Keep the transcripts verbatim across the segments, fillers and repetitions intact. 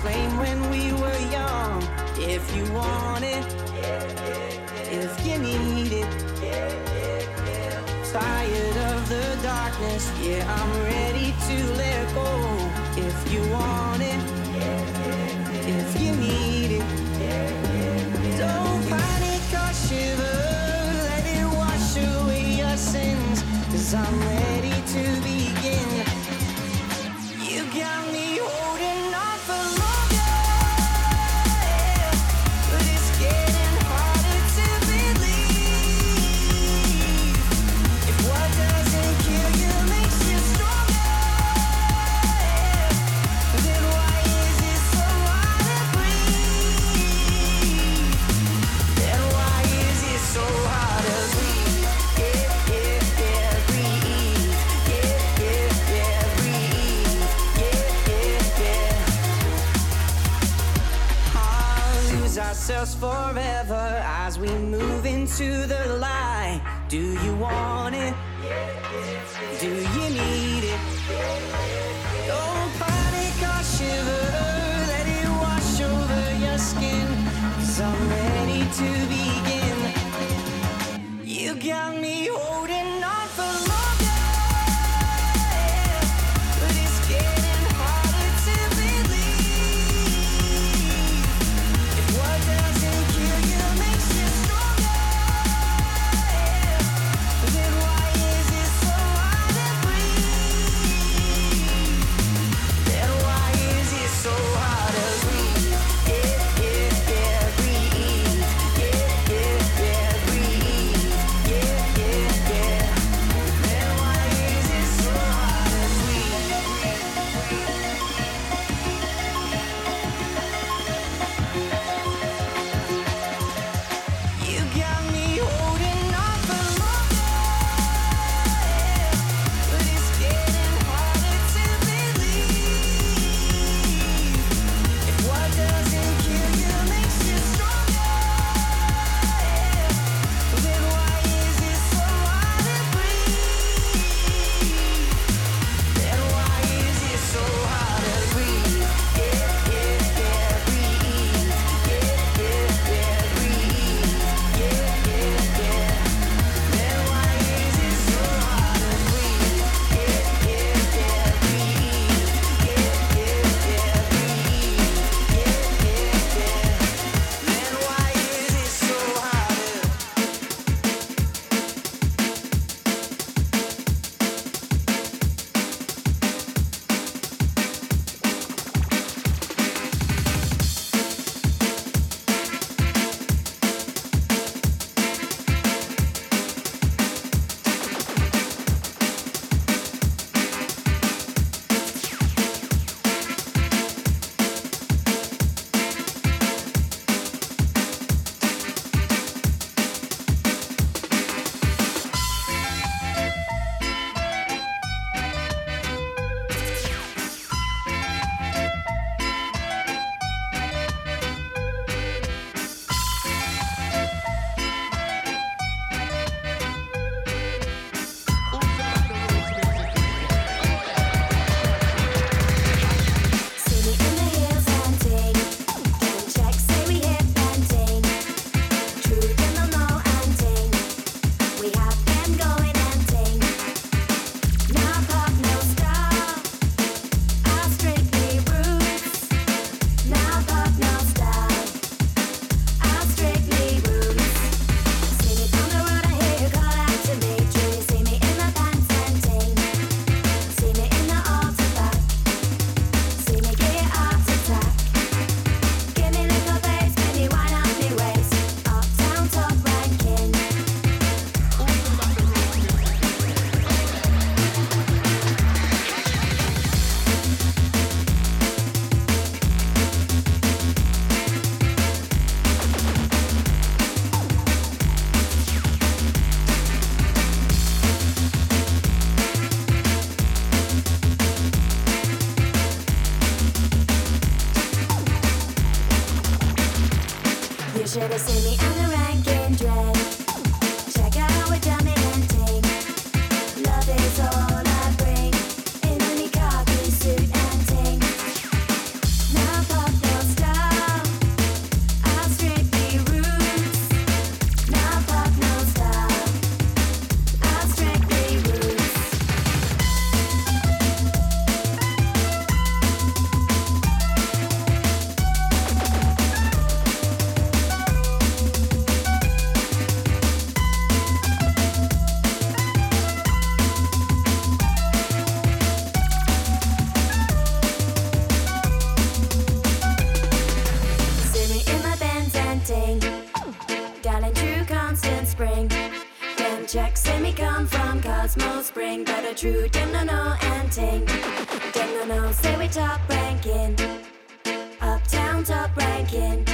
flame when we were young. If you want it, if you need it, tired of the darkness, yeah, I'm ready to let go. If you want it, if you need it, don't panic or shiver, let it wash away your sins, 'cause I'm ready to begin. You got me holding on for longer, but it's getting harder to believe. If what doesn't kill you makes you stronger, then why is it so hard to breathe? Then why is it so hard to breathe? Yeah, yeah, yeah, breathe. Yeah, yeah, yeah, breathe. Yeah, yeah, yeah. I'll lose ourselves forever as we move into the light. Do you want it? Do you need it? Don't panic or shiver, let it wash over your skin, 'cause I'm ready to begin. You got me holding on for longer, but it's getting harder to believe. If what doesn't kill you makes you stronger, then why is it so hard to breathe? Then why is it so hard to breathe? Yeah, yeah, yeah, breathe. Yeah, yeah, yeah, breathe. Yeah, yeah, yeah. Then why is it so hard to breathe? You got me holding on for longer, but it's getting harder to believe. If what doesn't kill you makes you stronger, then why is it so hard to breathe? Then why is it so hard to breathe? Yeah, yeah, yeah, breathe. Yeah, yeah, yeah, breathe. Yeah, yeah, yeah. Then why is it so hard to breathe? Yeah, yeah, yeah, breathe. Yeah, yeah, yeah, breathe. Yeah, yeah, yeah. Then why is it so hard to see me in the hills and ting, getting checks, say we hip and ting, truth in the low and ting, we have them going and ting. No pop, no star, our strictly roots. No pop, no star, our strictly roots. See me from the road, I hear you call out to me. True, you see me in the pants and ting, see me in the altar back, see me get out attack. Give me little bass, baby, wine up me waist, uptown top ranking. You should have seen me at the ranking dread. Check out how we're jamming and ting. Love is all I bring in any khaki suit and ting. Now pop, check, say me come from Cosmo Spring. But a true dem no no and ting. Dem no no, say we top ranking. Uptown top ranking.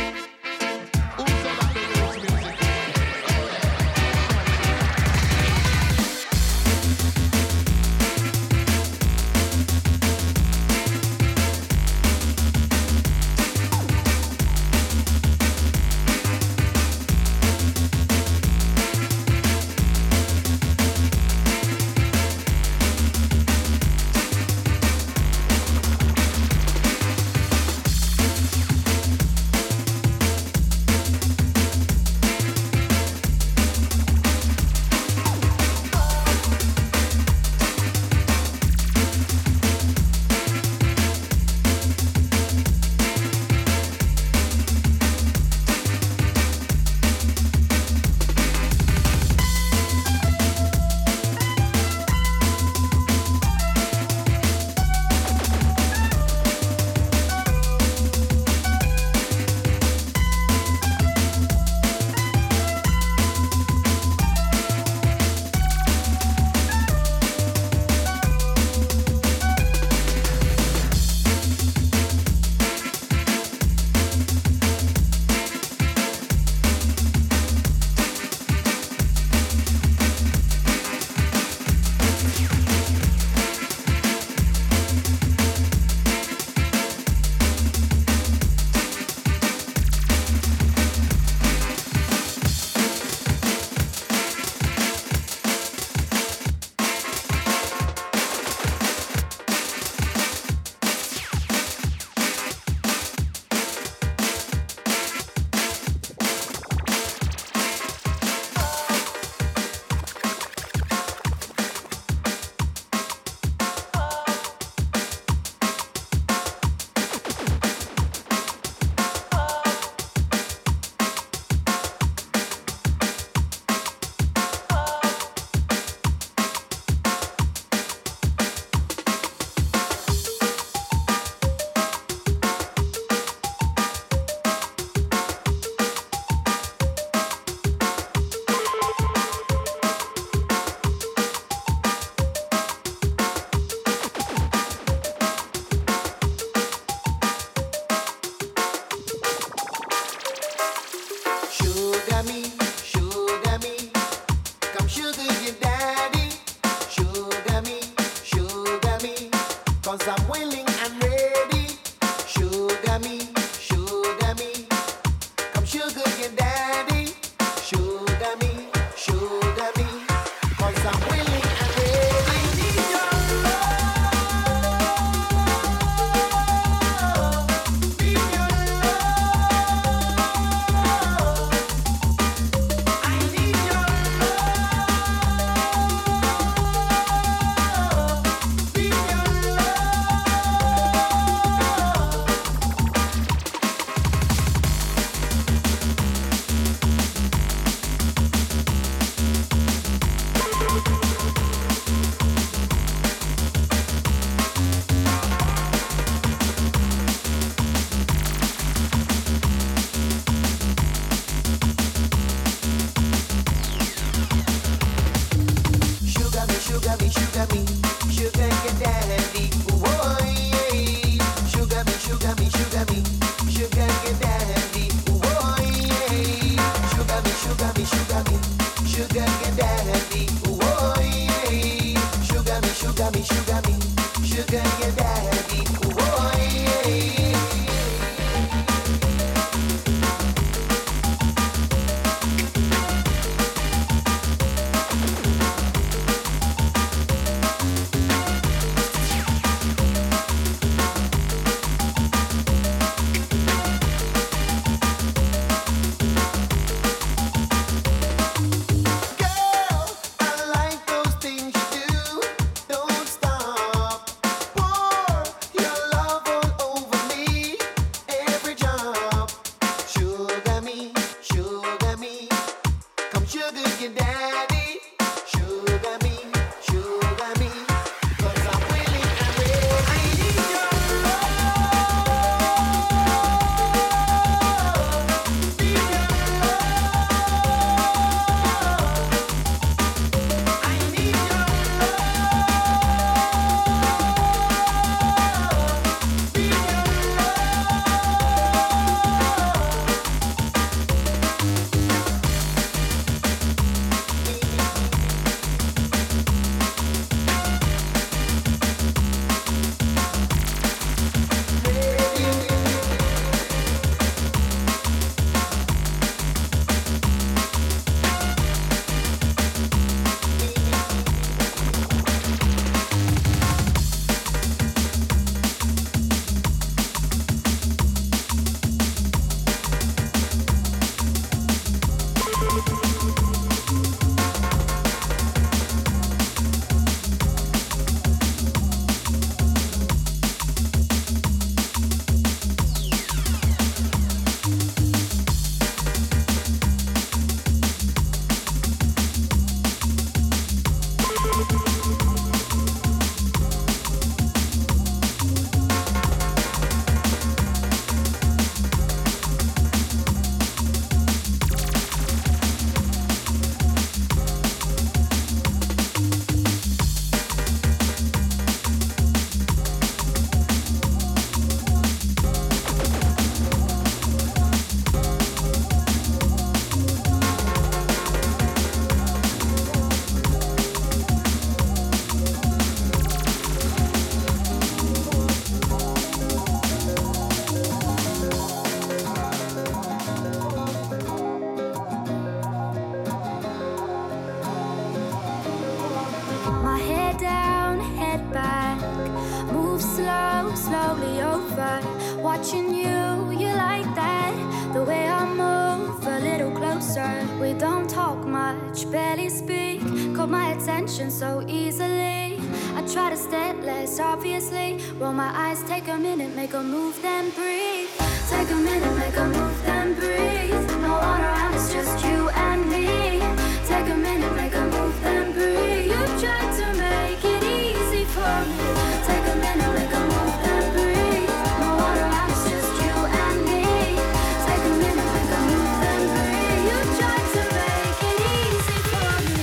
over, watching you, you like that. The way I move a little closer. We don't talk much, barely speak. Caught my attention so easily. I try to stay less obviously. Roll my eyes, take a minute, make a move, then breathe. Take a minute, make a move, then breathe. No one around, it's just you and me. Take a minute, make a move, then breathe. You tried to make it easy for me. Take a minute, make a move, then breathe. No one around, it's just you and me. Take a minute, make a move, then breathe. You tried to make it easy for me.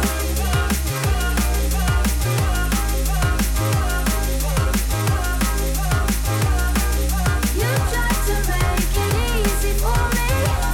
You tried to make it easy for me.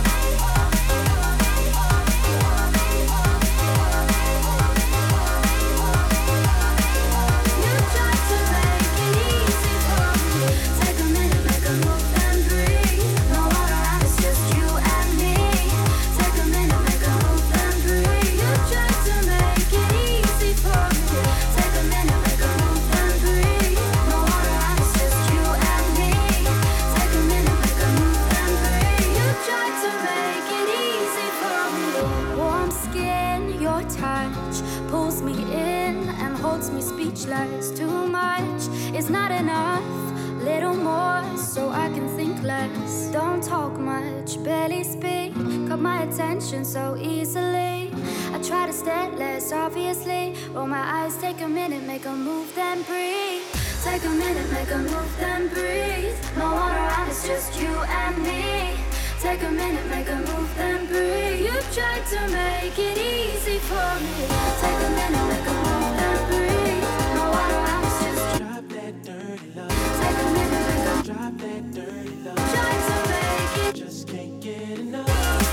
You tried to make it easy for me. Take a minute, make a move, then breathe. No one around, it's just you and me. Take a minute, make a move, then breathe. You tried to make it easy for me. Take a minute, make a move, then breathe. No one around, it's just you and me. Take a minute, make a move, then breathe. You tried to make it easy for me. Warm skin, your touch pulls me in and holds me speechless. Too much is not enough. Little more so I can think less. Don't talk much, barely speak. Got my attention so easily. I try to stay less obviously. Roll my eyes, take a minute, make a move, then breathe. Take a minute, make a move, then breathe. No one around, it's just you and me. Take a minute, make a move, then breathe. You tried to make it easy for me. Take a minute, make a move, then breathe. No one around, it's just you. Drop that dirty love. Take a minute, make a Drop that dirty love. try to make it. Just can't get enough.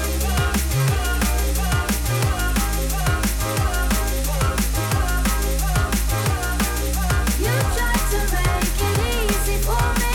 You tried to make it easy for me.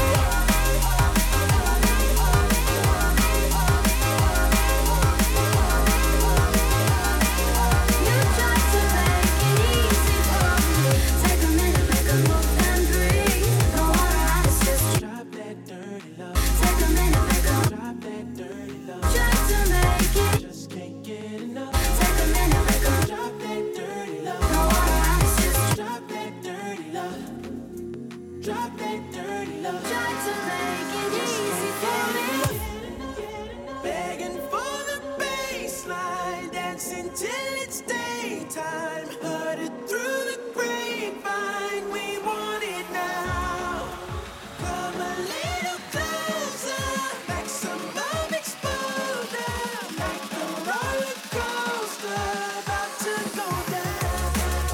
You tried to make it easy for me. Take a minute, make a move, then breathe. No one around, it's just you. Drop that dirty love. Take a minute, make a Drop that dirty love. try to make it. Just can't get enough. Take a minute, make a Drop that dirty love. no one around, it's just you. Drop that dirty love. Drop that dirty love. Try to make it easy for me. Begging for the baseline, dancing till it's daytime. Heard it through the grapevine. We want it now. Come a little closer, maximum exposure, like a roller coaster about to go down.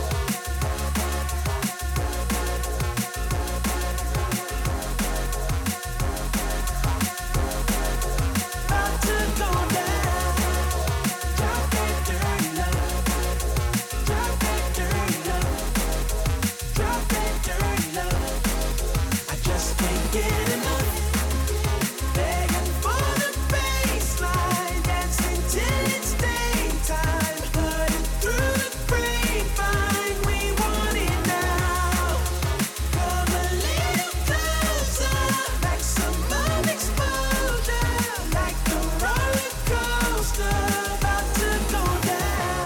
About to go down. Drop that dirty love. Drop that dirty love. Drop that dirty love. I just can't get enough. Begging for the baseline, dancing till it's daytime. Heard it through the grapevine. We want it now. Come a little closer, maximum exposure, like a roller coaster about to go down.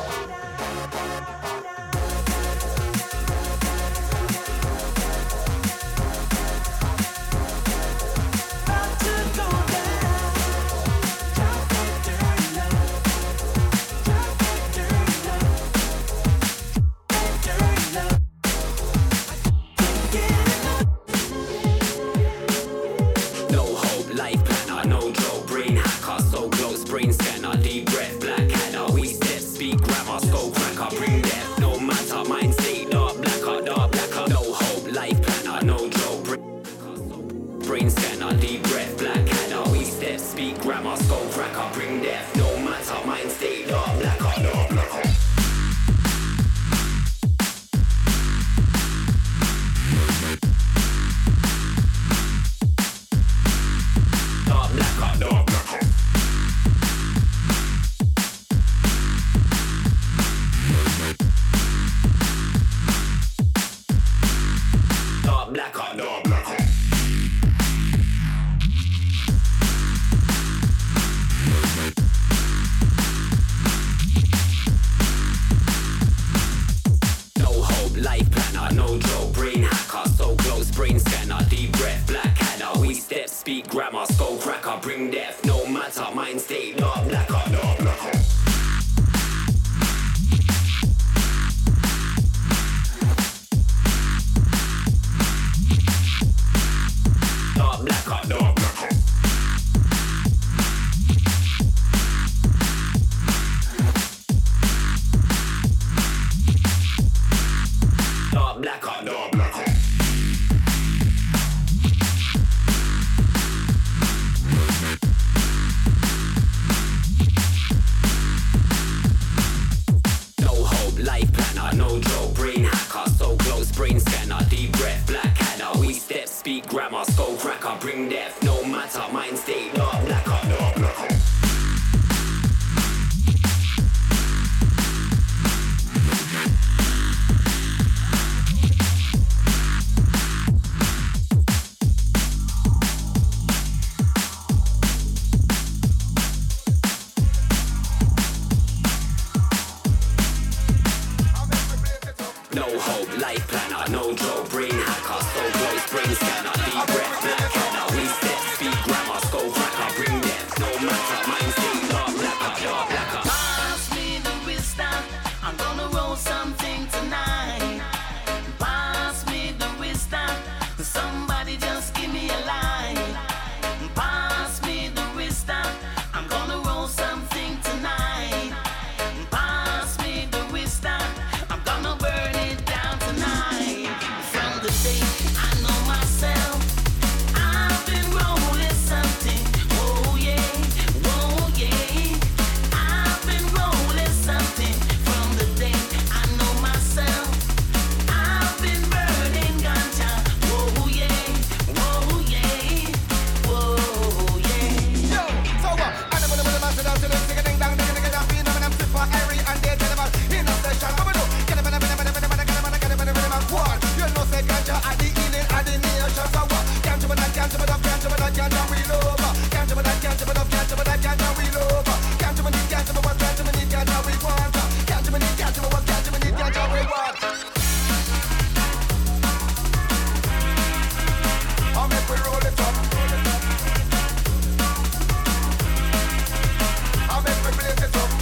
About to go down. Drop that dirty love. Drop that dirty love. That dirty love. Can't get enough. No hope, life planner, no joke, brain hacker, so close, brain scanner, deep breath, black adder, we step, speak grammar, skull cracker, bring death, no matter, mind state, dark blacker, dark blacker, no hope, life planner, no joke, brain brain scanner, deep breath, black adder, we step, speak grammar, skull cracker, bring death, no matter, mind state, dark blacker, dark blacker. Dark blacker, dark blacker. Dark blacker, dark blacker. bring death. No matter, mind state, dark black up, dark black up. No hope, life planner, no joke, brain hacker, so close, brain scanner, deep breath, black header, we step, speak grammar, skull cracker, bring death, no matter, mind state, dark blacker, dark blacker. Pass me the wisdom, I'm gonna roll something tonight. Pass me the wisdom, somebody just give me a line. Pass me the wisdom, I'm gonna roll something tonight. Pass me the wisdom, I'm gonna burn it down tonight. From the day I know myself, I've been rolling something. Oh yeah, oh yeah. I've been rolling something. From the day I know myself, I've been burning ganja. Oh yeah, oh yeah, oh yeah. Yo, so what? I never know the master down to them, sing a ding dong, ding ding ding, beat them and I'm fit for Harry and they tell them about in the session. Come on, do. Get them in a minute, minute, minute, minute, get them in a get them in a minute, minute, one. You know, say ganja at the healing at the nation. So what? Ganja with that, ganja with that, ganja with that, ganja we love. Ganja with that, ganja with that, ganja with that, ganja we love. Ganja with it, ganja with what, ganja with it, ganja we want. Ganja with it, ganja with what, ganja with it, ganja we want. I'll make we roll it up. I'll make we blaze it up.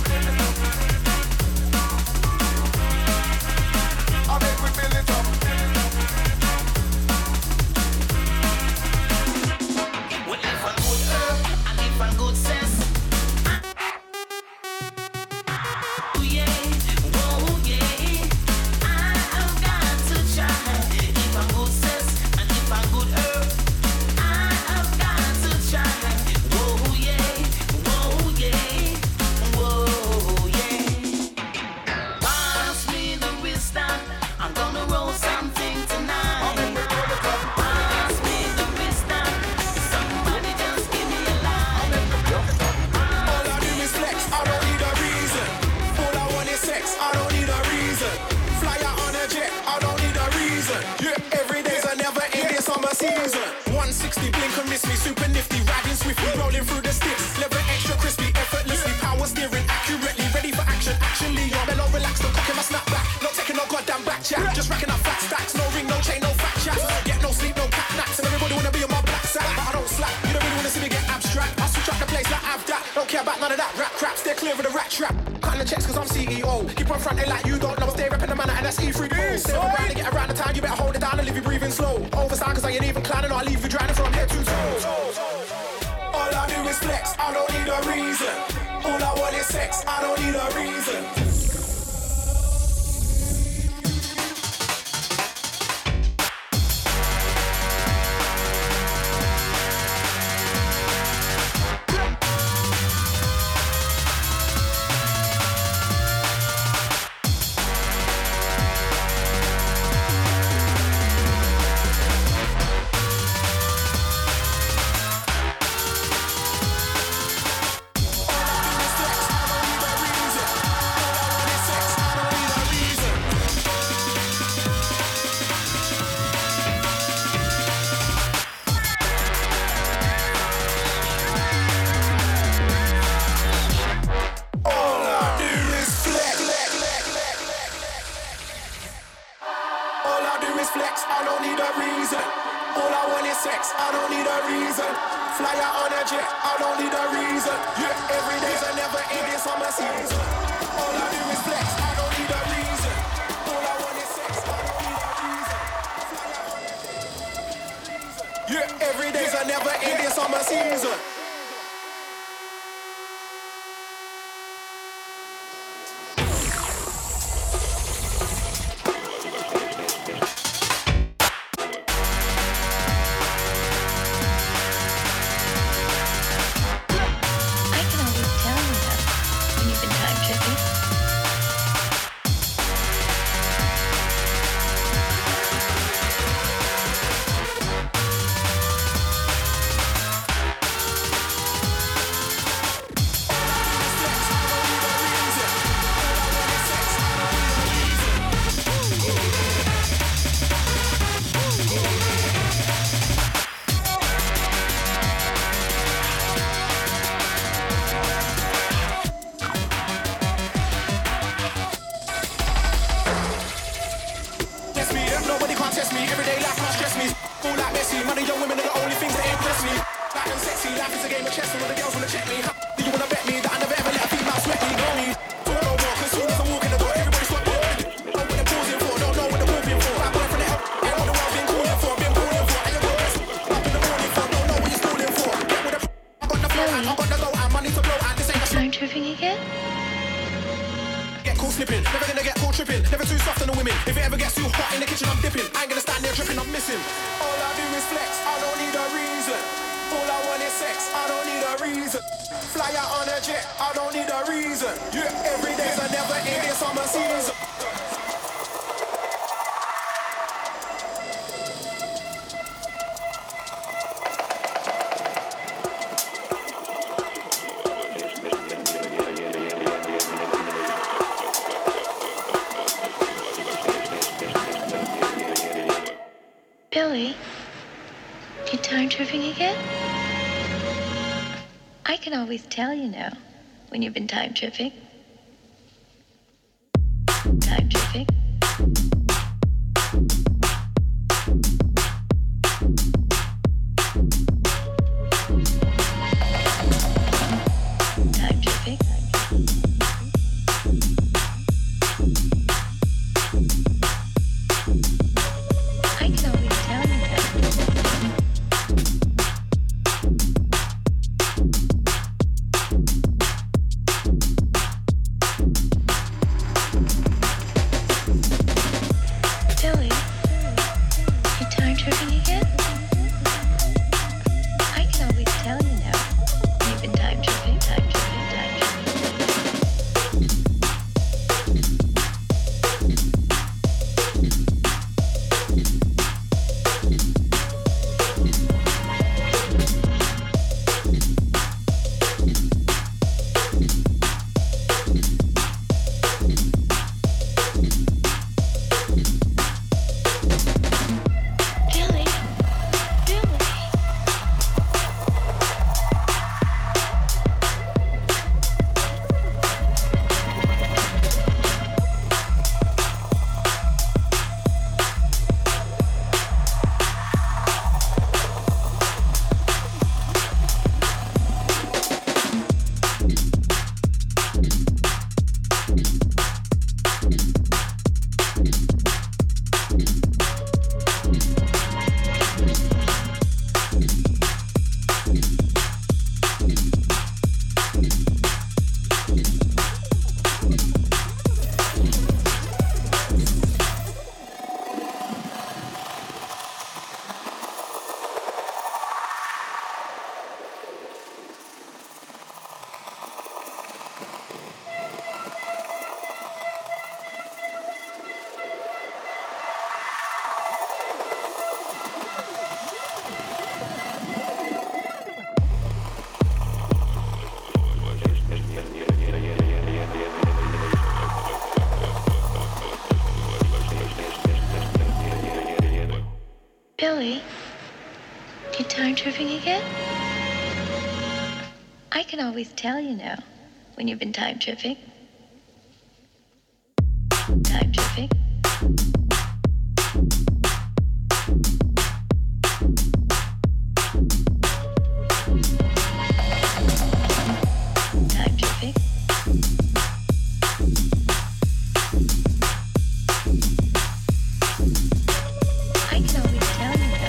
I'll make we build it up. Well, if I'm good herb and if I'm good sense. Oh yeah, oh yeah. I have got to try. If I'm good sense and if I'm good herb, I have got to try. Oh yeah, oh yeah, oh yeah. Pass me the wisdom, I'm gonna roll something tonight. Pass me the wisdom, somebody just give me a line. All I do is flex, I don't need a reason. All I want is sex, I don't need a reason. Fly out on a jet, I don't need a reason. Yeah, every day's a never ending summer season. one sixty blink and miss me, super nifty, riding swiftly, rolling through the sticks. Leather extra crispy, effortlessly, power steering accurately, ready for action. Action Leon, mellow, relax, no cocking my snap back. Not taking no goddamn back chat, just racking up fat stacks. No ring, no chain, no fat chats. Get no sleep, no cat naps, and everybody wanna be on my black sack, but I don't slack. You don't really wanna see me get abstract. I switch up the place like I've that. Don't care about none of that rap crap. Stay clear of the rat trap. Cutting the checks cause I'm C E O. Keep on fronting like you don't know. Stay repping the manner and that's E three O. Stay around and get around the time. You better hold it down and leave you breathing slow. Overstand cause I ain't even climbing or I leave you drowning from head to toe. All I do is flex. I don't need a reason. All I want is sex. I don't need a reason. Honey, young women are the only things that impress me. Life and sexy, life is a game of chess, and all the girls wanna check me. Do you wanna bet me that I never ever let a female sweat me? Know me. Talk no more, cause soon as I walk in the door, everybody stop talking. Know what they're pausing for, don't know what they're moving for. Bad boy from the help, ain't what the world been calling for, been calling for. Ain't your best up in the morning for, don't know what you're stalling for. Get with the I got the flow, I got the low, and money to blow, and this ain't a Time tripping again? Get caught slipping, never gonna get caught tripping. Never too soft on the women. If it ever gets too hot in the kitchen, I'm dipping. I ain't gonna stand there dripping, I'm missing. All I do is flex, I don't need a reason. All I want is sex, I don't need a reason. Fly out on a jet, I don't need a reason. Yeah, every day's a never ending summer season. Billy, you time tripping again? I can always tell, you know, when you've been time tripping. Time tripping. Time tripping. I can always tell, you know. Billy, you time tripping again? I can always tell, you know, when you've been time tripping, time tripping, time Billy, Billy. Billy, you time tripping again? I can always tell, you know, when you've been time tripping. Time tripping. Time tripping. I can always tell, you know.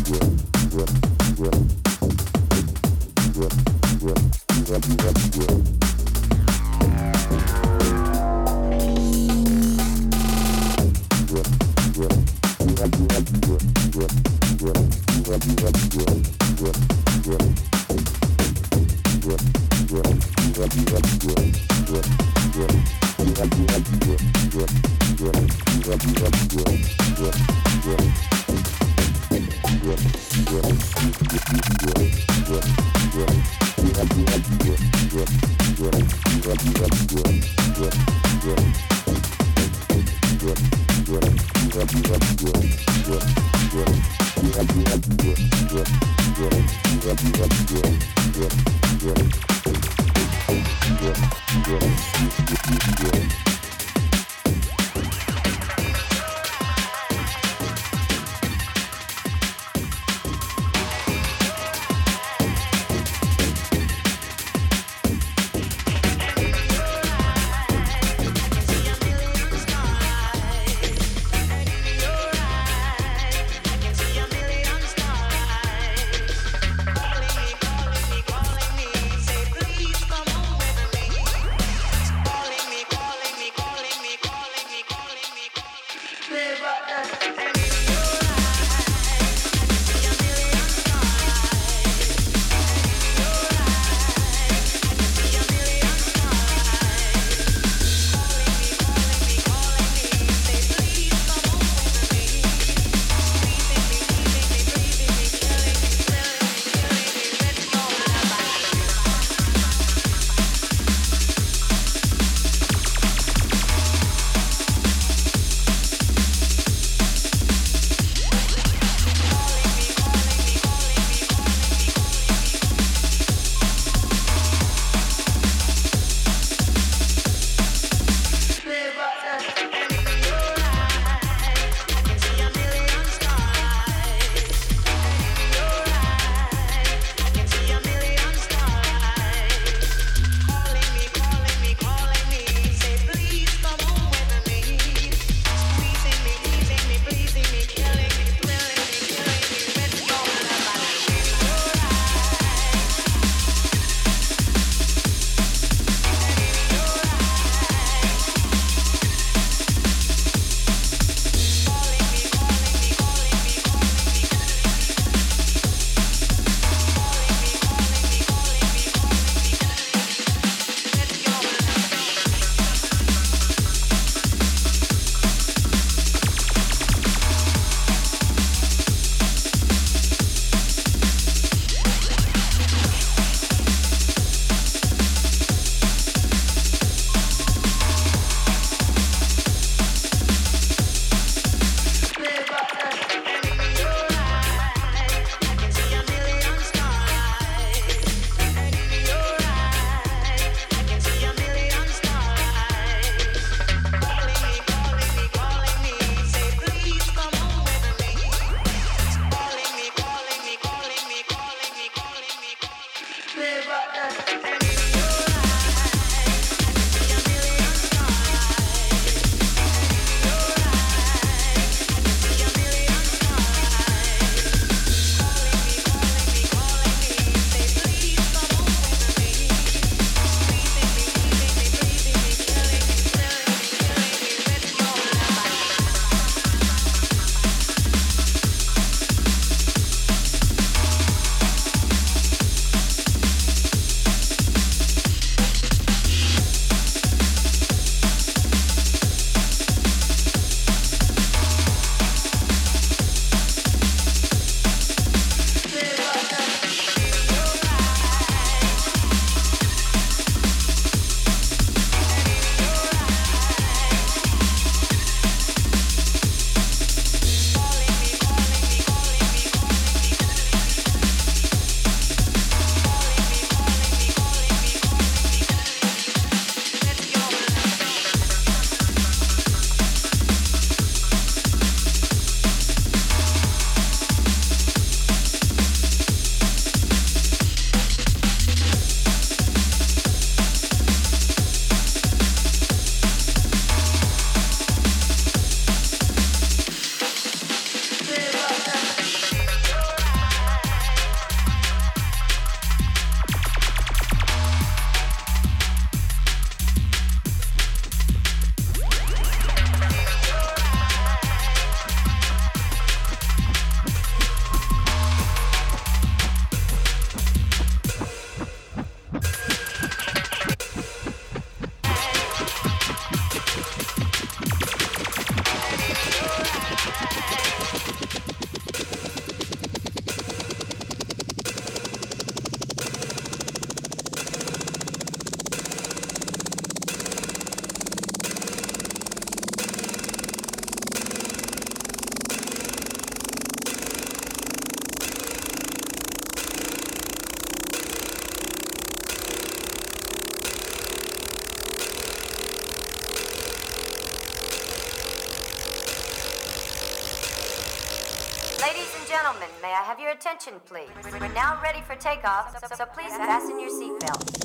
Calling me, may I have your attention, please? We're now ready for takeoff, so, so please fasten your seatbelt.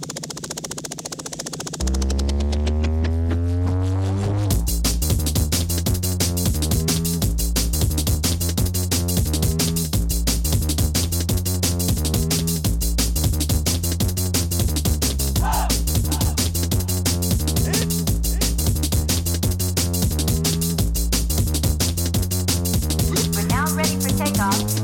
We're now ready for takeoff.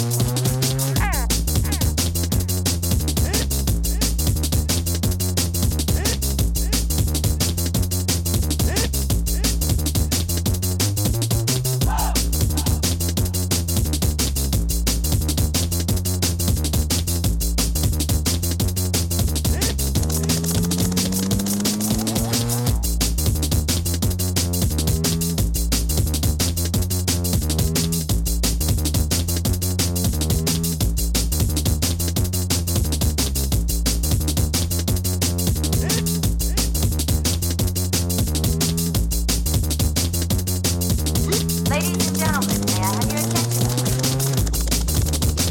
Ladies and gentlemen, may I have your attention, please?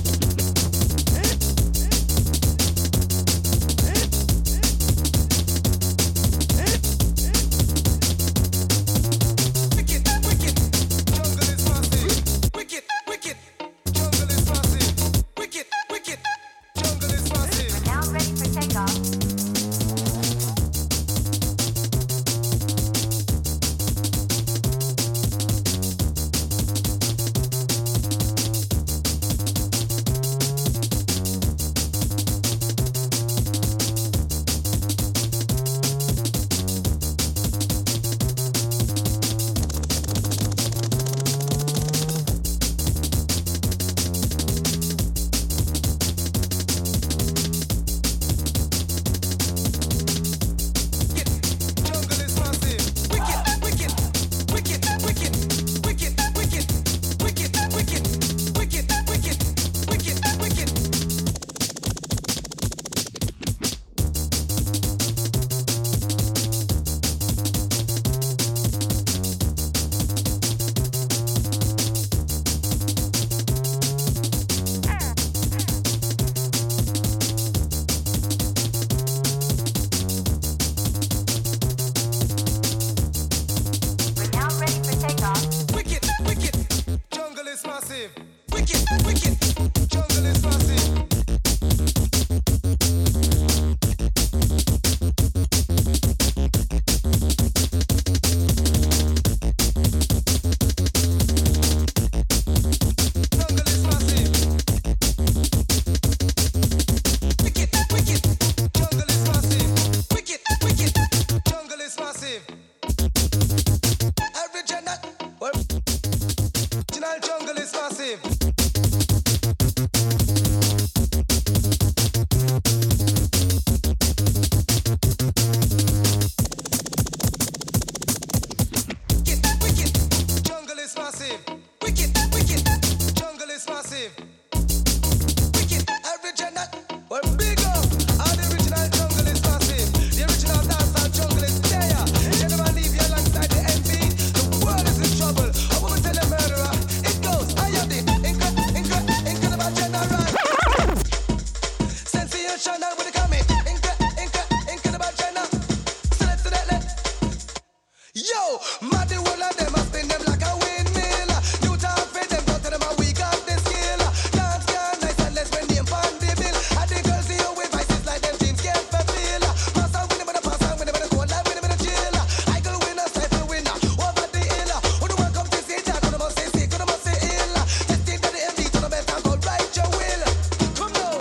Wicked, wicked, jungle is massive. Wicked, wicked, jungle is massive. Wicked, wicked, jungle is massive. We're now ready for takeoff. Jungle is massive. Wicked, wicked, wicked, wicked, wicked, wicked, wicked, wicked, wicked, wicked, wicked, wicked. We're now ready for takeoff. Wicked, wicked, jungle is massive. Wicked, wicked, jungle is massive. Jungle is massive. Wicked, wicked, jungle is massive. Wicked, wicked, jungle is massive. Original, well, original jungle is massive. Wicked, wicked, jungle is massive. Wicked, wicked, jungle is massive. Wicked, original, well, big up. All the original jungle is massive. The original dancehall jungle is there. Gentlemen, leave you alongside the M V. The world is in trouble. I want to tell a murderer. It goes, I am the incredible, incredible, incredible general. Sensational when it coming. Incredible, incredible, incredible general. Select, select, select. Yo, mad the whole of them, I spin them like a windmill. You talk for them, go to them and we got the skill. Dance can nice and less when name pan the bill. And the girls see you with vices like them dreams can't fulfill. Pass on with them, pass on with them, go live with them, chill. I go winner, cycle winner, over the hill. When the one come to see Jack, when the must say sick, when the must say ill. Just think that the M D to the best and go right your will. Come now.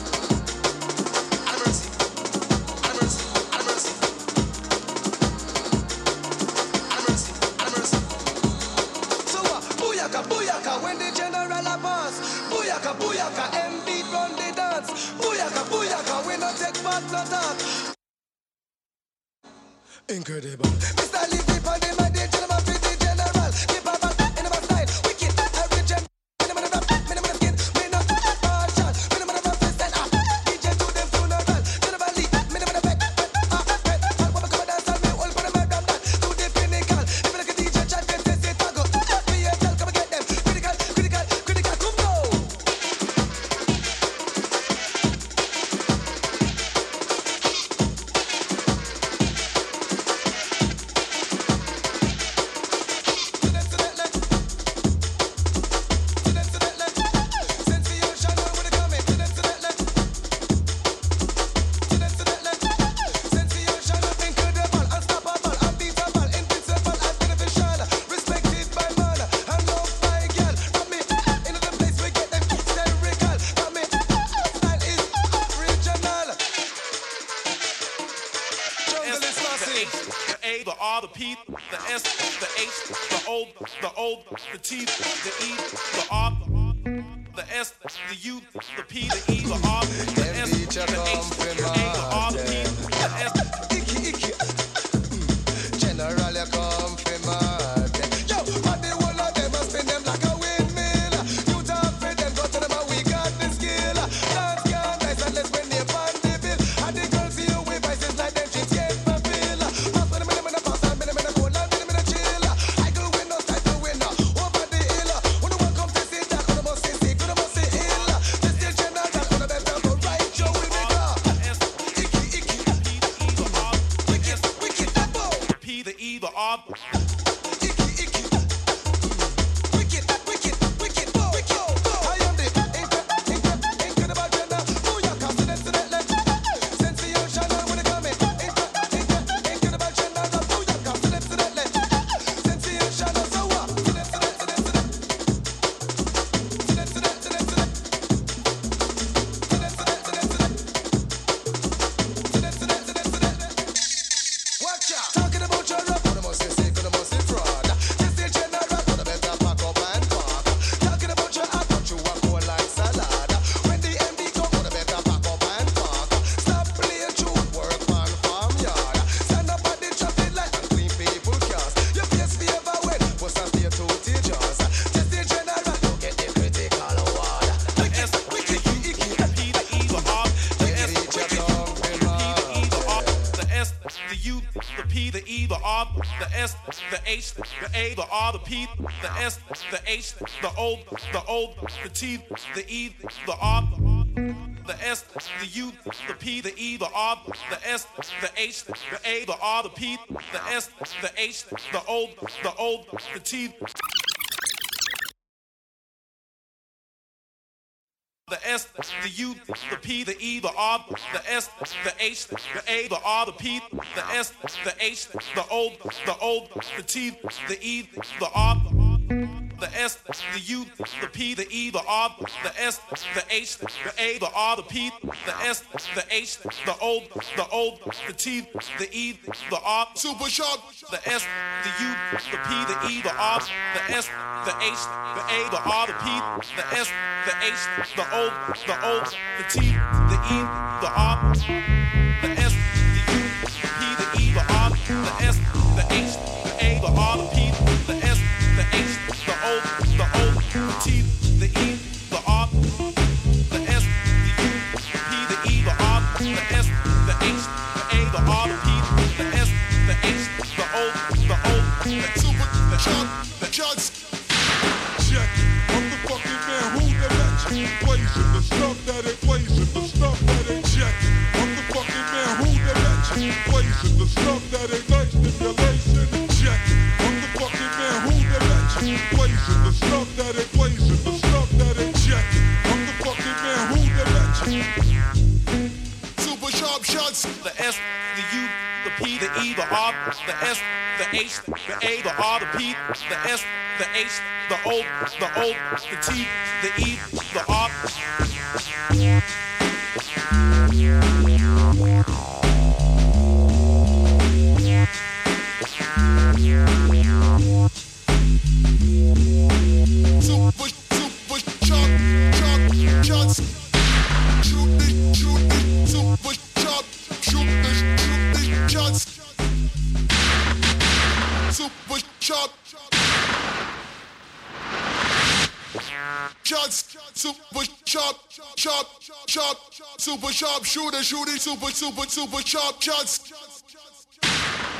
Have mercy, have mercy, have mercy. Have mercy, have mercy. So uh, booyaka, booyaka, when the general a pass. Booyaka, booyaka, M beat run the dance. Booyaka, booyaka, we no take part no talk. Incredible. Mister Leaf Whip on the my day, gentleman, pretty general. Keep a back in my style. Wicked, every gem. Minimum of rap, minimum of skin. Me no partial. Minimum of rap, listen up. D J to them funeral. Gentleman Leaf, minimum of back. Ah, back. All what come dance and me all for the mad damn that. To the pinnacle. If you look at D J chat, then say say tago. Me a tell, come and get them. Critical, critical, critical, come now. the S, the H, the O, the O, the T, the E, the R, the S, the U, the P, the E, the R, the S, the H, the A, the R, the P, the S. Icky, icky. General, you come from mad. Yo, but the whole of them must spin them like a windmill. You talk for them, go to them and we got the skill. Dance can nice and let's bring the pan the bill. And the girls see you with vices like them she's yet fulfill. Pass with them in the pass and in the cold and in the chill. I go win no title winner over the hill. When the one come to see that, gonna must see sick, gonna must see ill. This still general, that gonna better go right, Joe will be gone. Icky, icky. Wicked, wicked, that boy. P, the E, the R. Icky, icky. Wicked, wicked, wicked, boy, wicked. I am the incre- incre- incredible gender. Booyaka, sensational, sensational when it come in. Incre- incre- incredible gender. Booyaka, sensational, sensational. So what? Sensational, sensational. Sensational, sensational. Sensational, sensational. Watch out. Talking about your rap, gonna must say sick, gonna must say fraud. This is general, gonna better pack up and park. Talking about your act, but you are cold like salad. When the M D come, gonna better pack up and park. Stop playing tune, work on farm yard. Stand up at the traffic light and clean people cars. Your face favor when, must have stay two teachers. This is general, don't get the critical award. Wicked, wicked, icky, P, the E, the R. The S, the wicked, P, the E, the R. The S, the U, the P, the E, the R. The S, the H, the A, the R, the P. The S, the H, the O, the O, the T, the E, the R. The S, the U, the P, the E, the R. The S, the H, the A, the R, the P. The S, the H, the O, the O, the T. The S, the U, the P, the E, the R, the S, the H, the A, the R, the P, the S, the H, the O, the O, the T, the E, the R, the S, the U, the P, the E, the R, the S, the H, the A, the R, the P, the S, the H, the O, the O, the T, the E, the R, Super sharp. the S, the U, the P, the E, the R, the S, the H, the A, the R, the P, the S, the H, the O, the O, the T, the E, the R, the S, the U, the P, the E, the R, the S, the H, the A, the R, the P, the S, the H, the O, the O, the T, the E, the R, the S, the U, the P, the E, the R, the S, the H, the A, the R, the P, the S, the H, the O, the O, the Super sharp. The shots. Check it. I'm the fucking man who the legend. Blazing the stuff that ain't blazing, the stuff that ain't checking. I'm the fucking man who the legend. Blazing the stuff that ain't nice, stimulation. Check it. I'm the fucking man who the legend. Blazing the stuff that ain't blazing, the stuff that ain't checking. I'm the fucking man who the legend. Super sharp shots. the S, the U, the P, the E, the R, the S, the H, the A, the R, the P, the S, the H, the O, the O, the T, the E, the R. Super, super sharp, sharp shots. Shoot the, shoot the, super sharp. Shoot the, shoot the shots. Super sharp. Shots, super sharp, sharp, sharp, super sharp shooter, shooting, super, super, super sharp shots.